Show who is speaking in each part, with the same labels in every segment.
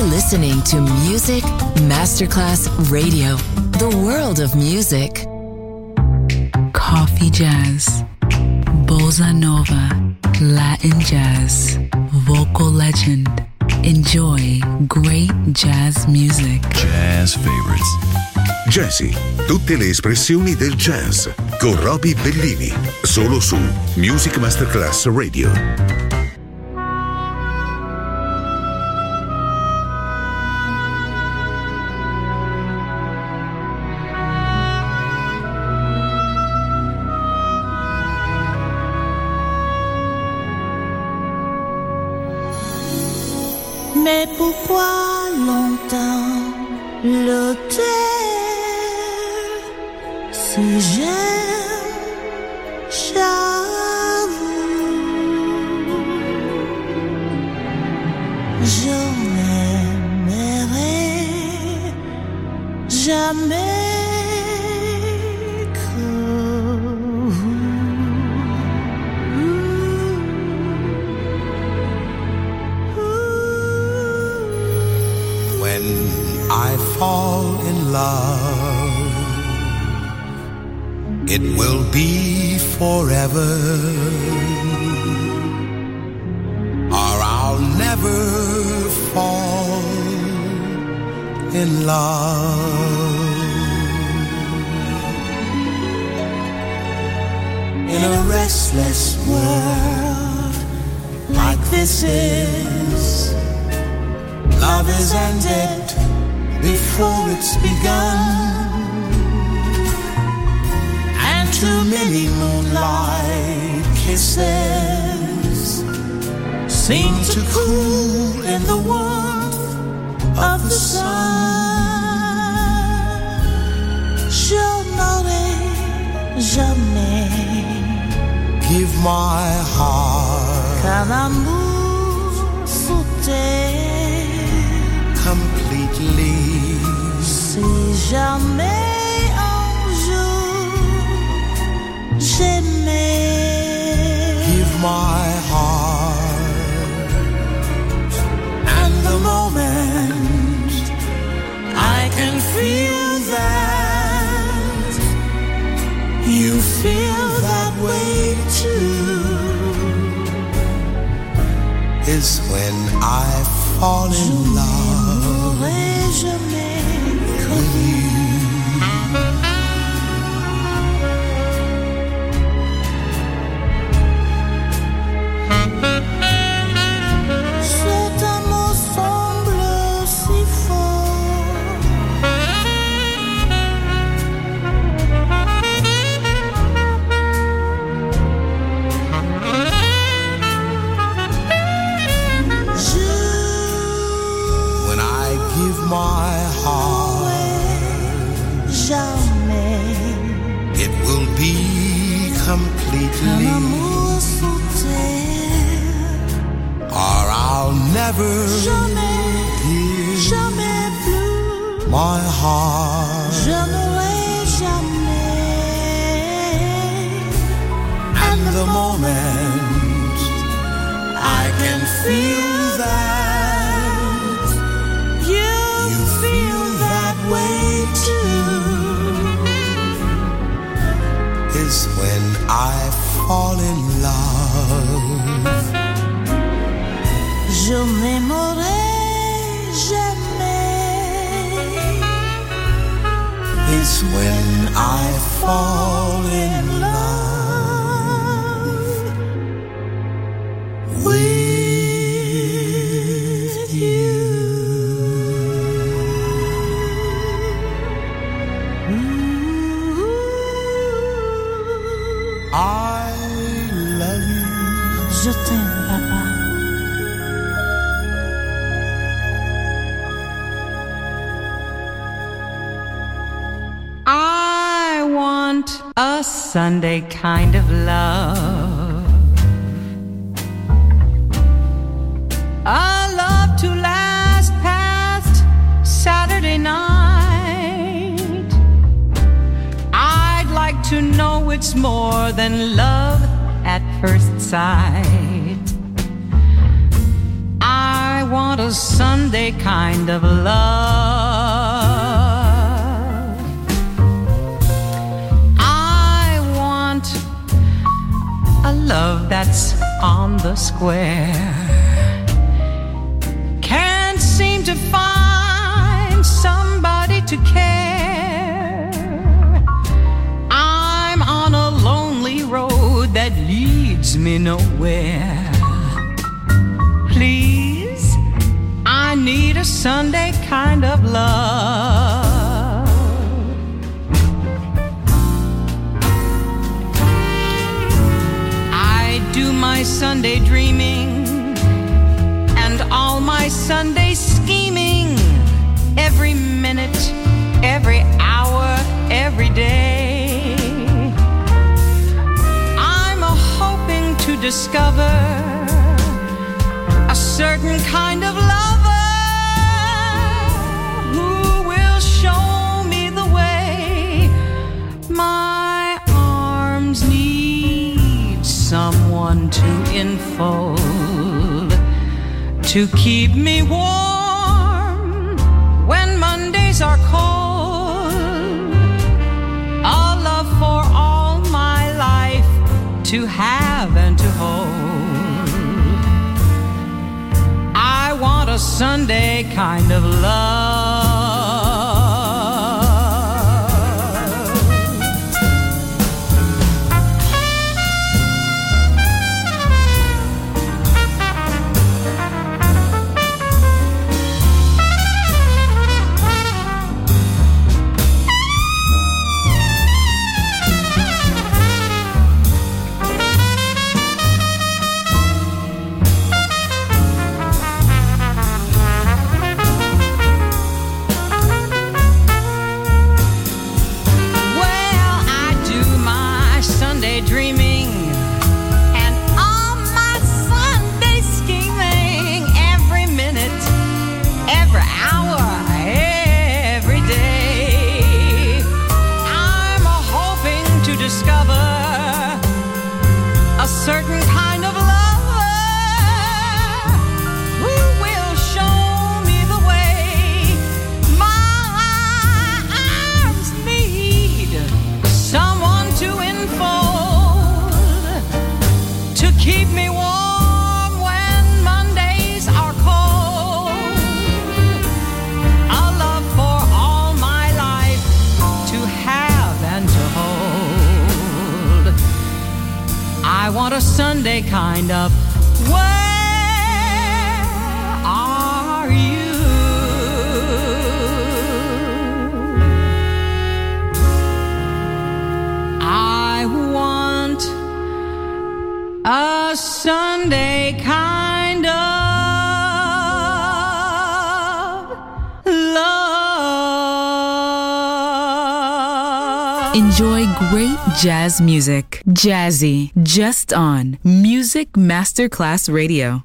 Speaker 1: You're listening to Music Masterclass Radio, the world of music.
Speaker 2: Coffee jazz, bossa nova, Latin jazz, vocal legend. Enjoy great jazz music.
Speaker 3: Jazz favorites.
Speaker 4: Jazzy, tutte le espressioni del jazz con Roby Bellini, solo su Music Masterclass Radio.
Speaker 5: Mais pourquoi longtemps le taire si j'aime, j'avoue, je n'aimerai jamais que vous.
Speaker 6: When I fall in love, it will be forever, or I'll never fall in love. In a restless world like this is, love is ended before it's begun, and too many moonlight kisses seem to cool in the warmth of the sun. Je n'aurai jamais give my heart qu'un amour sous terre completely. Si jamais un jour j'aimais, give my heart, and the moment I can feel that you feel that way too, is when I fall in love with you. Cet amour semble si fort, when I give my heart, jamais it will be completely, un amour sous terre, or I'll never give jamais plus my heart. Je n'aurai jamais, and the moment I can feel that you feel that way too, is when I fall in love. Je n'aimerai jamais, is when I fall in love with you. I love you. Je t'aime, papa.
Speaker 7: I want a Sunday kind of love, a love to last past Saturday night. I'd like to know it's more than love at first sight. I want a Sunday kind of love. I want a love that's on the square. Can't seem to find somebody to care. I'm on a lonely road that leads me nowhere. Please, I need a Sunday kind of love. I do my Sunday dreaming and all my Sunday scheming every minute, every hour, every day. I'm hoping to discover a certain kind of lover who will show me the way. My arms need someone to enfold, to keep me warm when Mondays are cold. A love for all my life to have and to hold. I want a Sunday kind of love. A Sunday kind of. Where are you? I want a Sunday kind of love.
Speaker 2: Enjoy great jazz music. Jazzy, just on Music Masterclass Radio.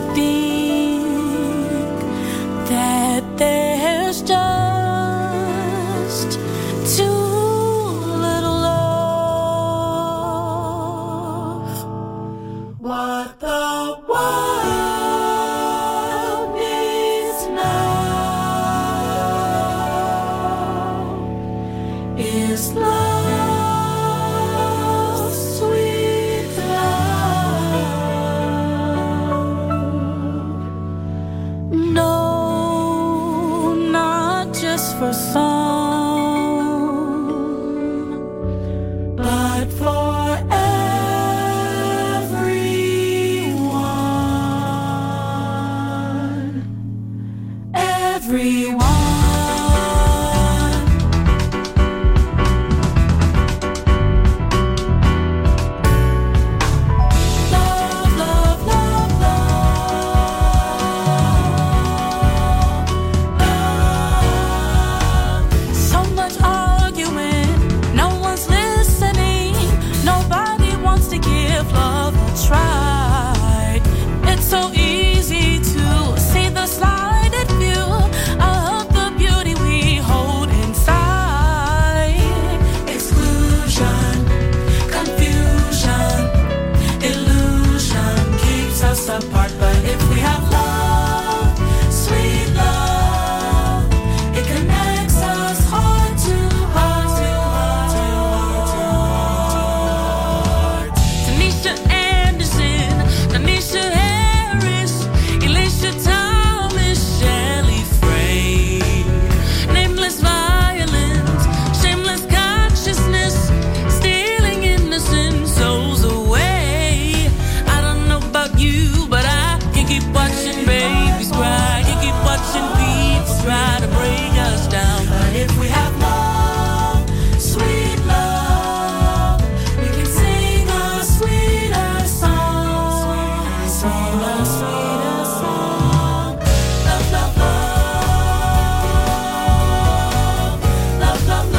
Speaker 5: think that there's just too little love. What the world needs now is love, sweet love. No, not just for some, but for everyone. Everyone. Love, love, love, love. So much arguing, no one's listening. Nobody wants to give love a try. It's so easy to see the slighted view of the beauty we hold inside. Exclusion, confusion, illusion keeps us apart. But if we have love, sweet love, it connects us heart to heart, to heart, to heart. Tanisha Anderson, Tanisha Harris, Elisha Thomas, Shelley Frey. Nameless violence, shameless consciousness, stealing innocent souls away. I don't know about you, but I can keep watching babies cry, can keep watching people try to break us down. But if we have love, sweet love, we can sing a sweeter song, sing a sweeter song. Love, love, love, love, love,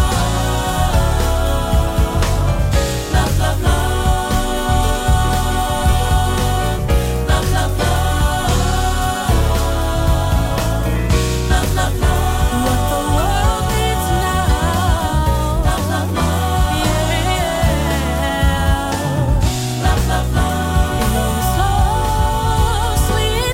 Speaker 5: love, love, love, love, love, love, love, love, love, love. What the world needs now. Love, love, love, yeah. Love, love, love, is love, sweet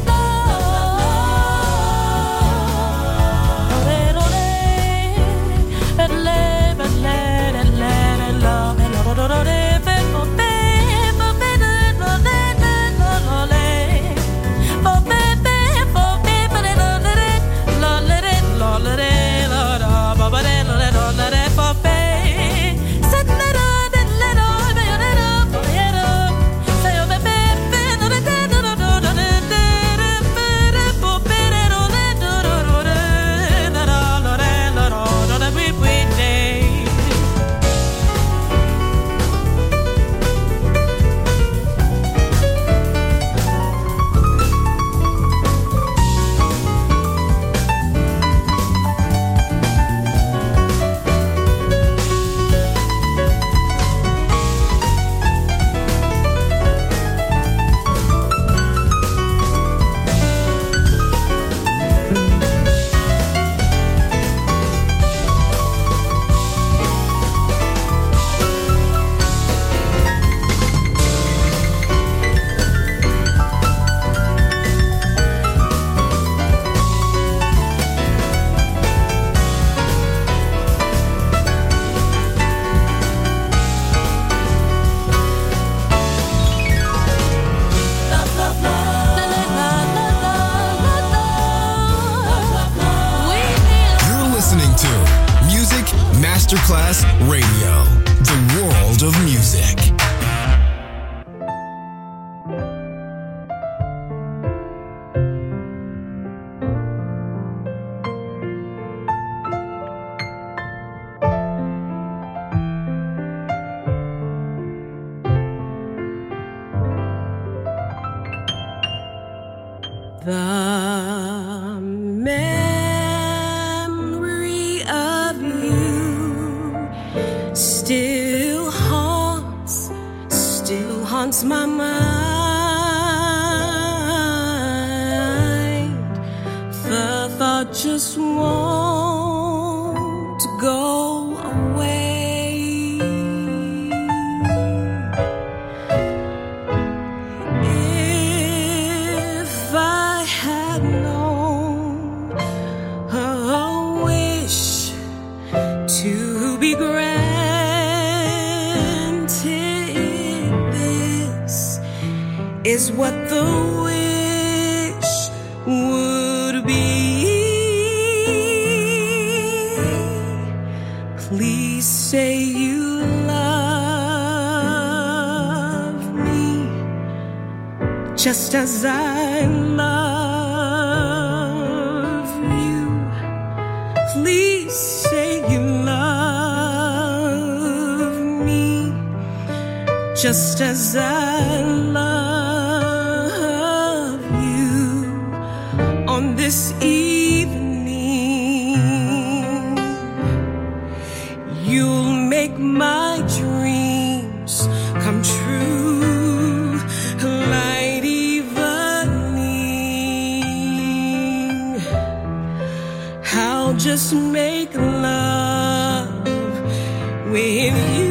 Speaker 3: Masterclass Radio, the world of music.
Speaker 5: The memory of you still haunts my mind. just want to go away. If I had known a wish to be granted, this is what the wish would be. Please say you love me just as I love you. Please say you love me just as I love you on this evening. You'll make my dreams come true, light evening. I'll just make love with you.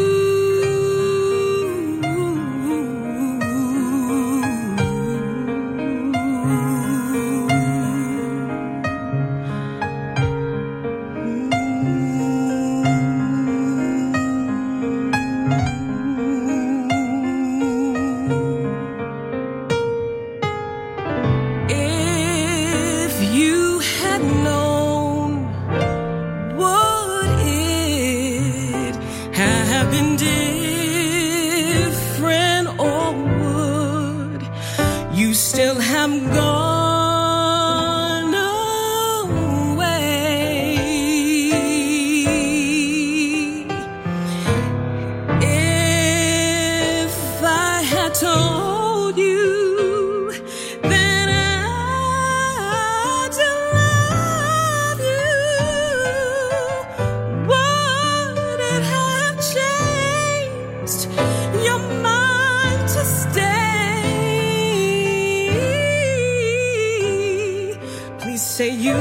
Speaker 5: Say you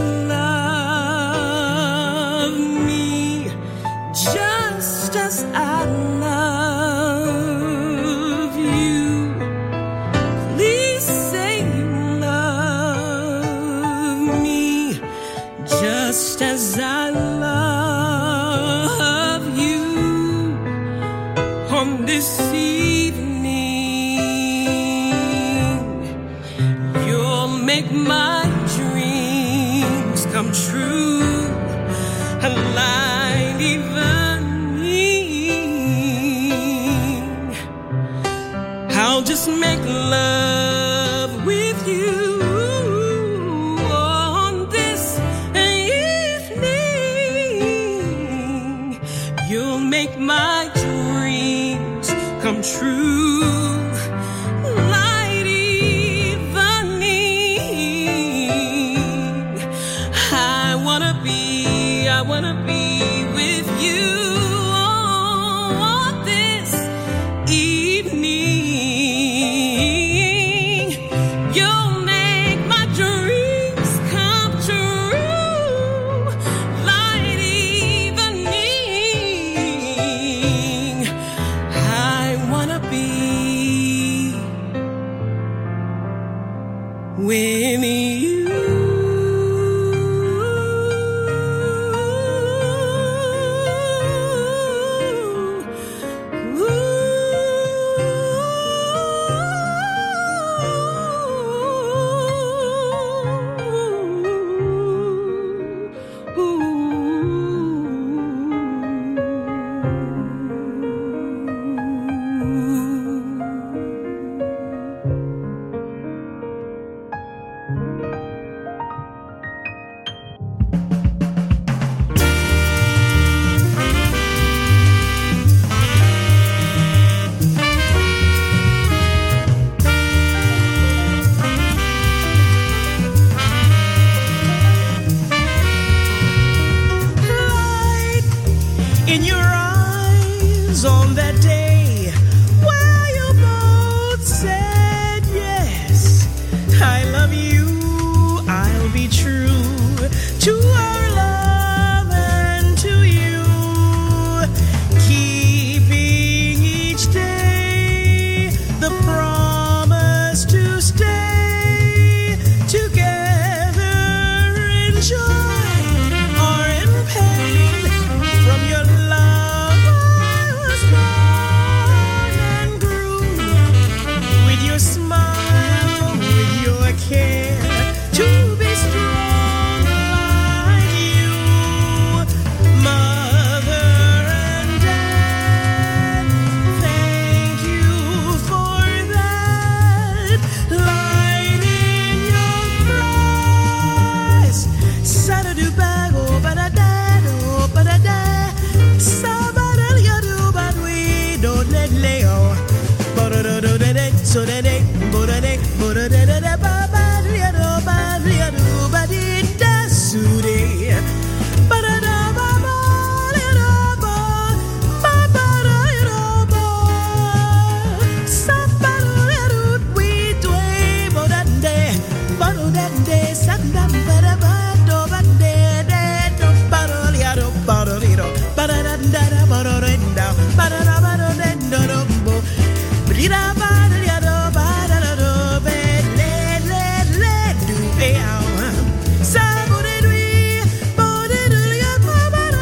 Speaker 5: love me just as I love you. Please say you love me just as I love you on this evening. You'll make my come true, a light evening. I'll just make love with you on this evening. You'll make my dreams come true. I wanna be with you on this evening. You'll make my dreams come true, light evening. I wanna be with you.
Speaker 8: so da de bo da de ba ba ria do ba di da su de ba da da ba ba ria do ba ba ria do ba sa ba ria do we dwe bo da de sa da ba da ba do ba de do ba ria do ba da da ba da ba do da ba da ba do do bo ria ba ria do ba da do be le do be sa bo de ria ba ba do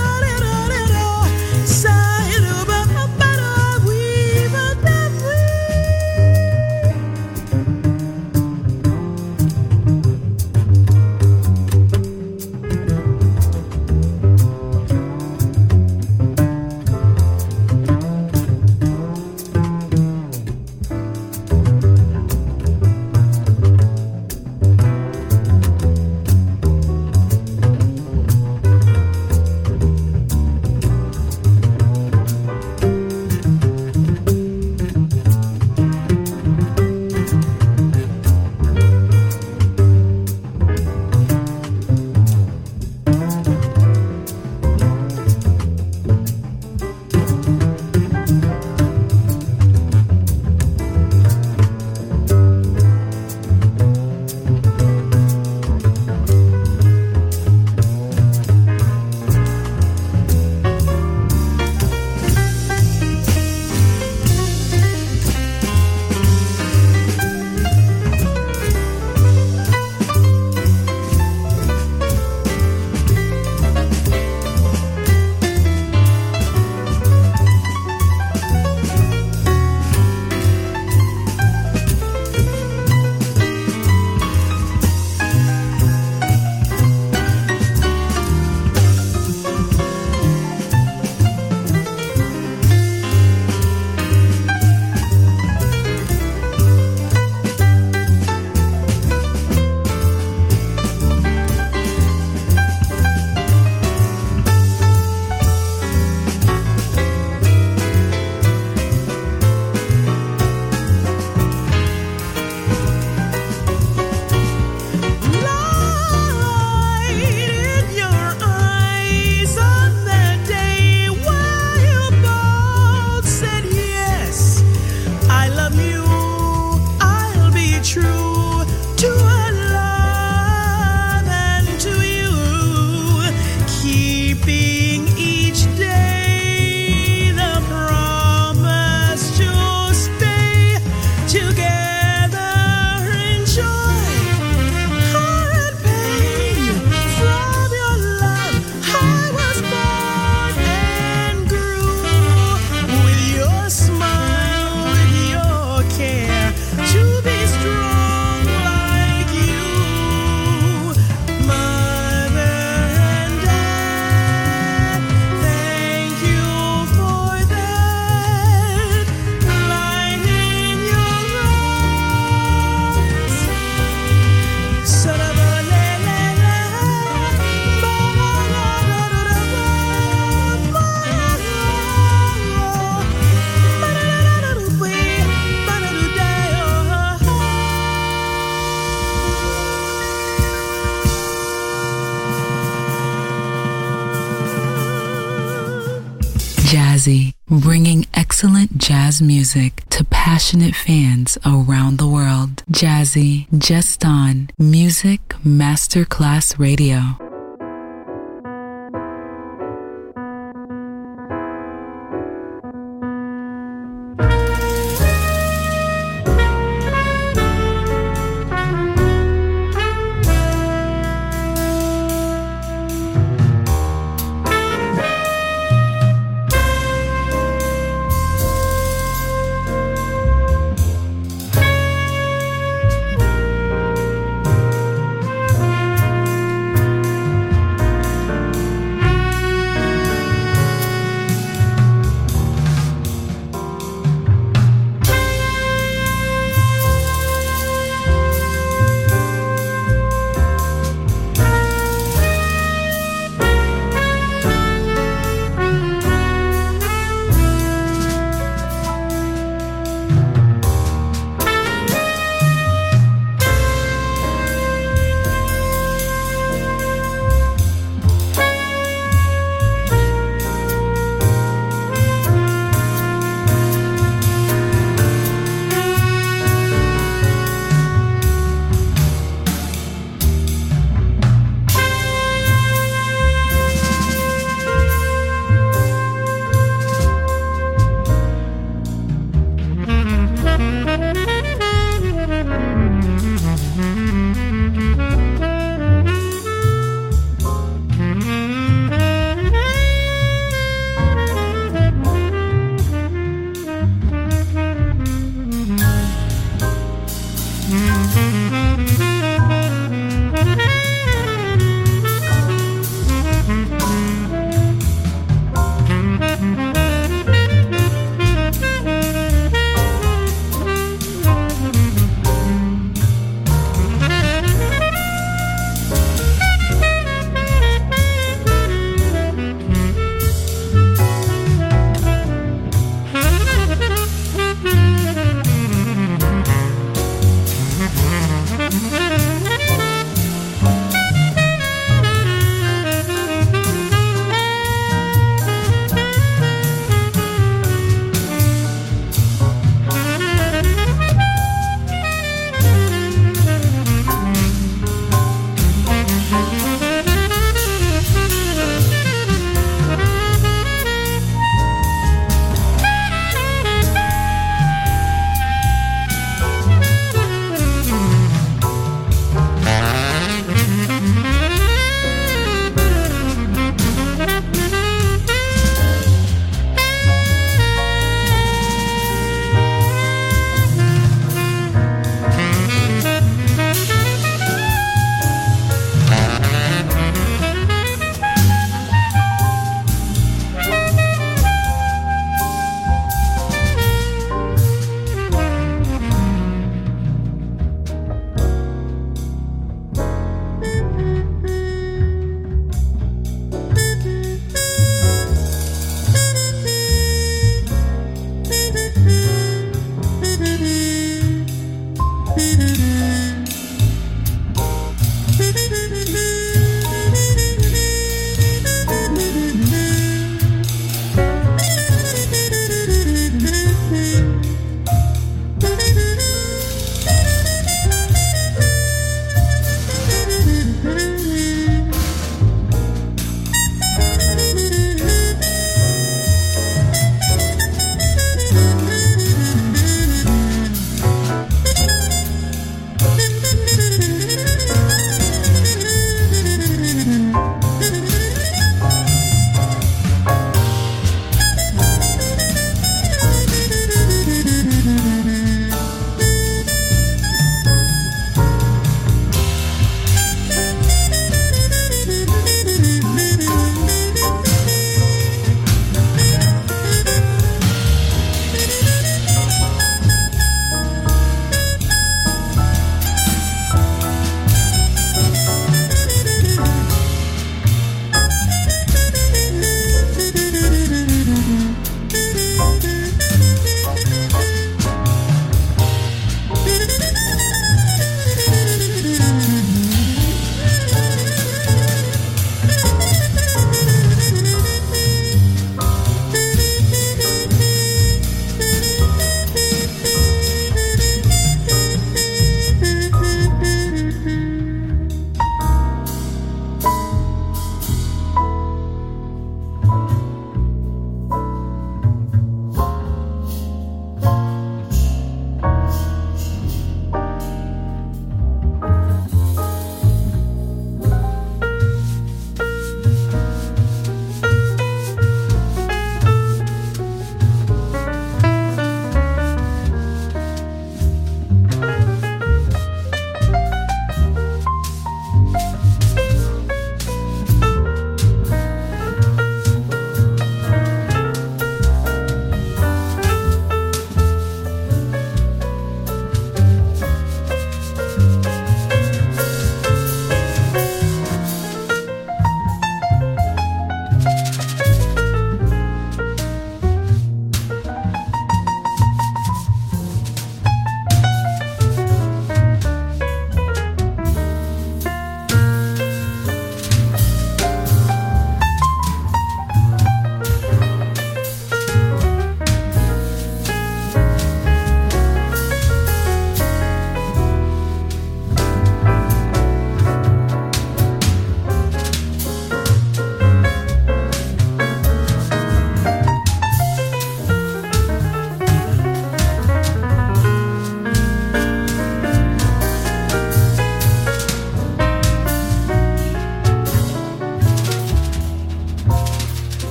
Speaker 8: sa do ba ba do we ba da we.
Speaker 2: Jazzy, bringing excellent jazz music to passionate fans around the world. Jazzy, just on Music Masterclass Radio.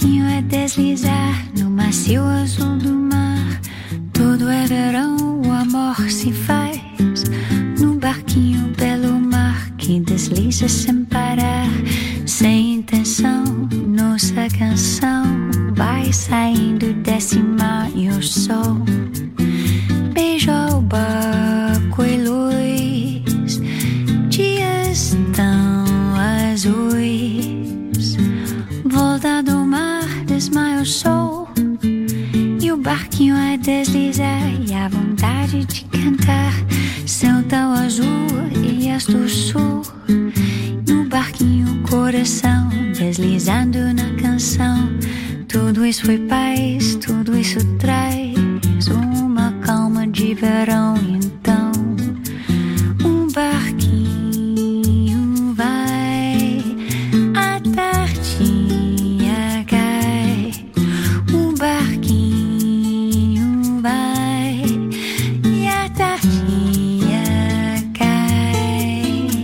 Speaker 9: barquinho a deslizar no macio azul do mar. Tudo é verão, o amor se faz no barquinho belo mar que desliza sem parar, sem intenção. Nossa canção vai saindo desse mar e o sol beijou o barco e luz, dias tão azuis. Volta do mar, desmaia o sol e o barquinho a deslizar e a vontade de cantar. Céu tão azul e as do sul, no barquinho coração deslizando na canção. Tudo isso foi paz, tudo isso traz uma calma de verão. Então um barquinho vai, a tardinha cai. Um barquinho vai e a tardinha cai.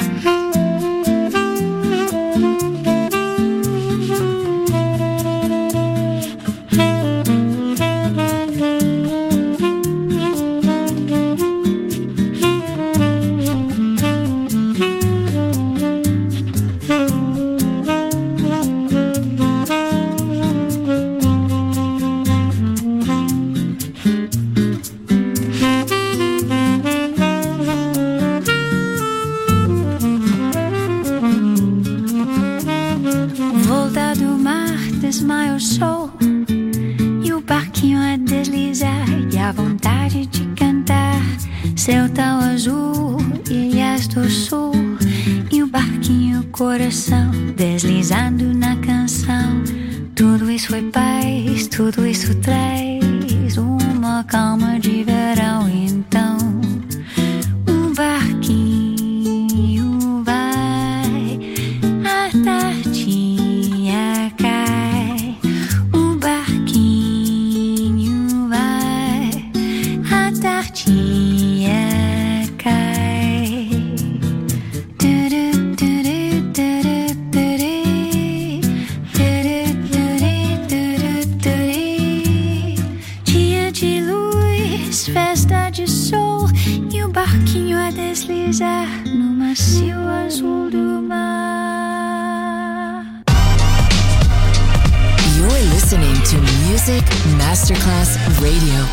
Speaker 9: Volta do mar, desmaia o sol e o barquinho a deslizar e a vontade de cantar. Céu tão azul, ilhas do sul e o barquinho coração deslizando na canção. Tudo isso foi paz, tudo isso traz uma calma de verão. Então um barquinho vai, a tardinha cai. Um barquinho vai, a tardinha cai. Dia de luz, festa de sol e o barquinho a deslizar no macio azul do mar.
Speaker 1: You're listening to Music Masterclass Radio.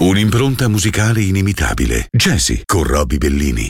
Speaker 4: Un'impronta musicale inimitabile. Jazzy con Roby Bellini.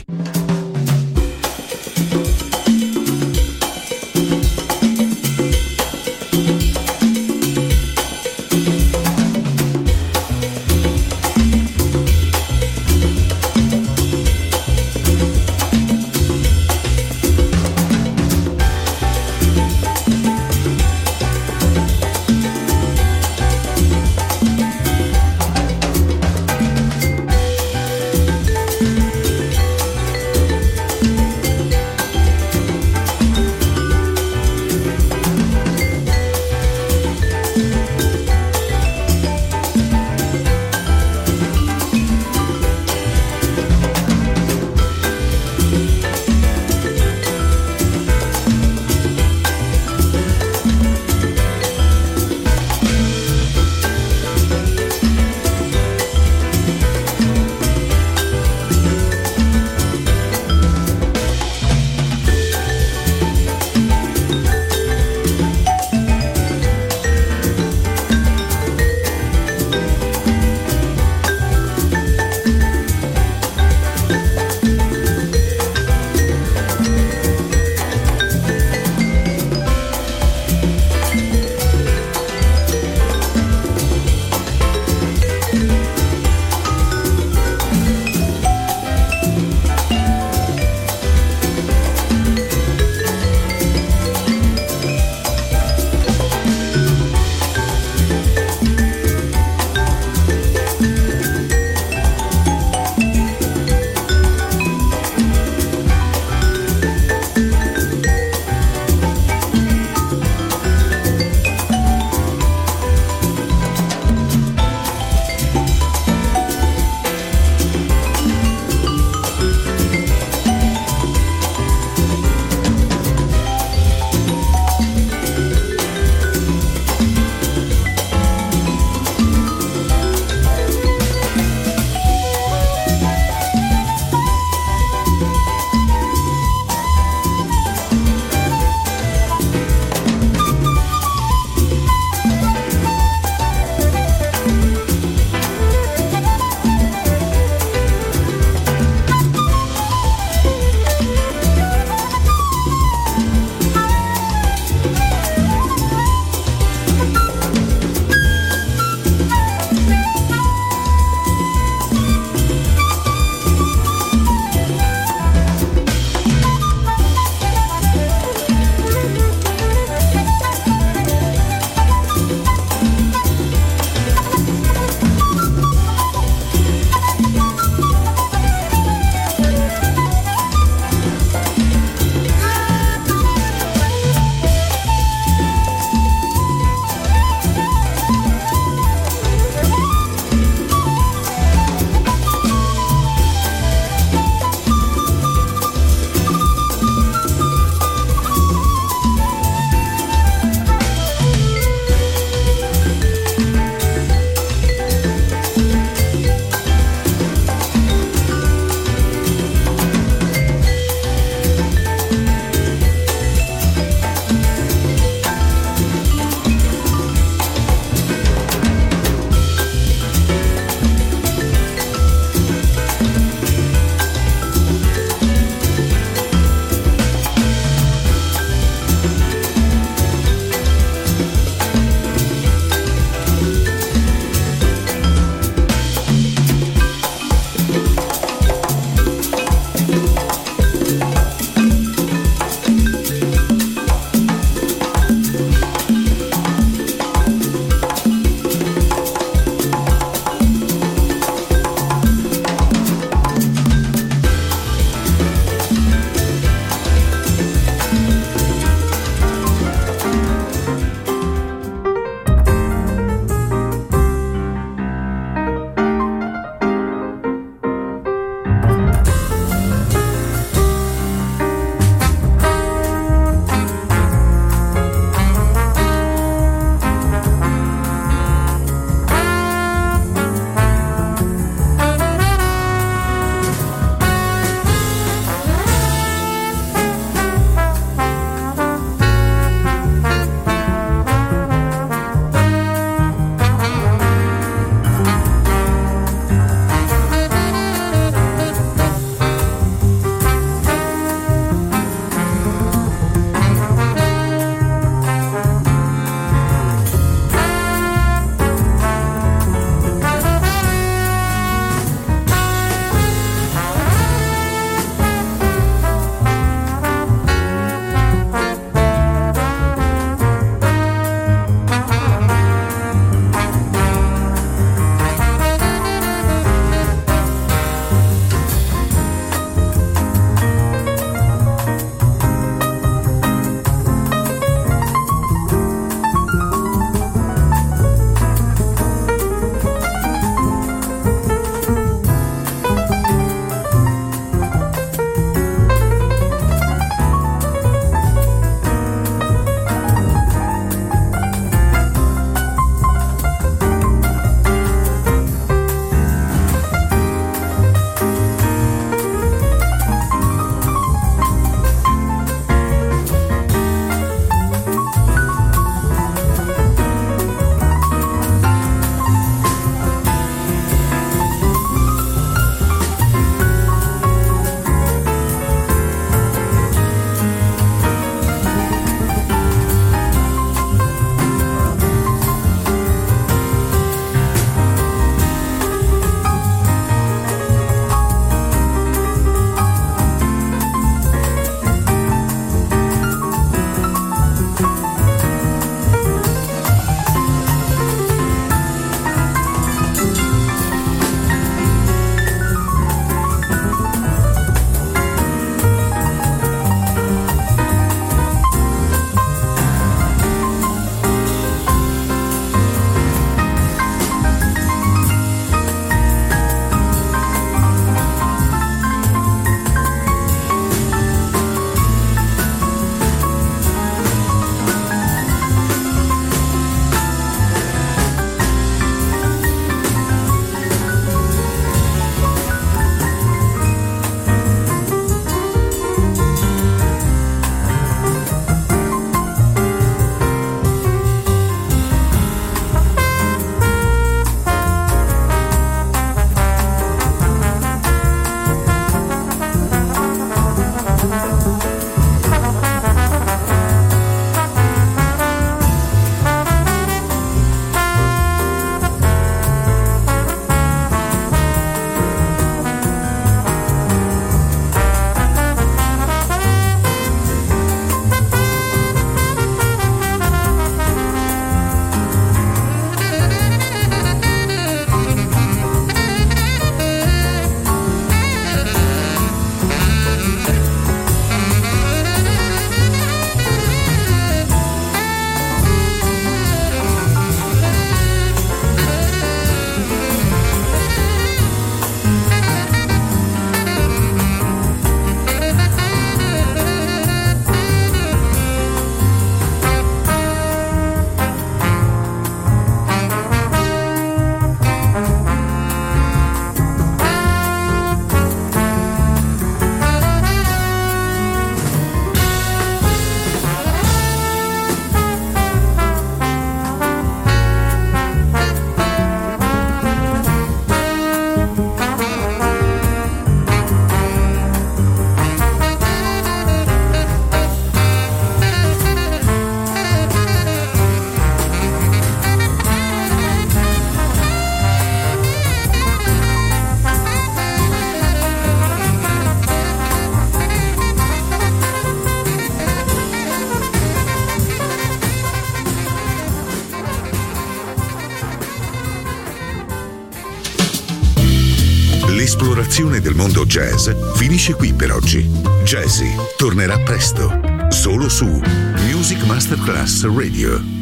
Speaker 4: L'esplorazione del mondo jazz finisce qui per oggi. Jazzy tornerà presto, solo su Music Masterclass Radio.